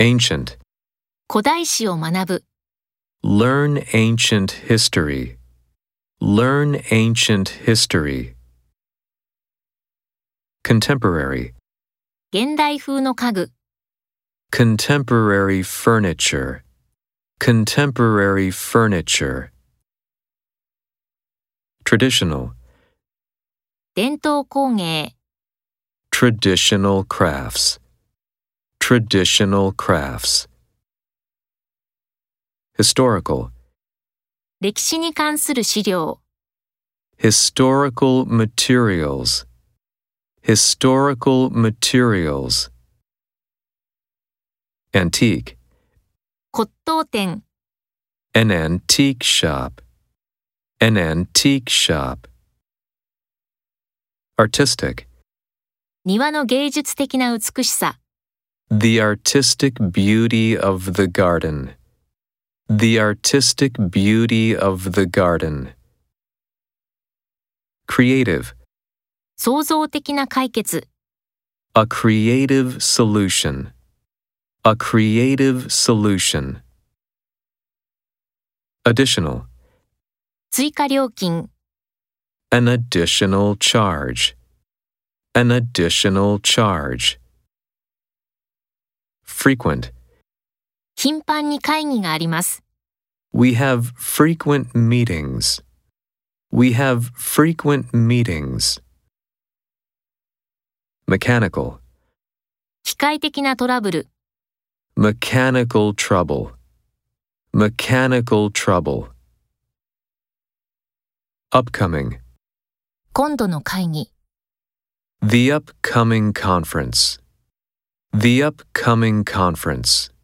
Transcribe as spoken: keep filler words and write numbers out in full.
Ancient. 古代史を学ぶ。 Learn ancient history. Learn ancient history. Contemporary. 現代風の家具。 Contemporary furniture. Contemporary furniture. Traditional. 伝統工芸。 Traditional crafts. Traditional crafts. Historical. 歴史に関する資料。 Historical materials. Historical materials. Antique. 骨董店。 An antique shop. An antique shop. Artistic. 庭の芸術的な美しさ。 The artistic beauty of the garden. The artistic beauty of the garden. Creative. 創造的な解決。 A creative solution. A creative solution. Additional. 追加料金。 An additional charge. An additional charge. Frequent. 頻繁に会議があります。 We have frequent meetings. We have frequent meetings. Mechanical. 機械的なトラブル。 Mechanical trouble. Mechanical trouble. Upcoming. 今度の会議。 The upcoming conference. The upcoming conference.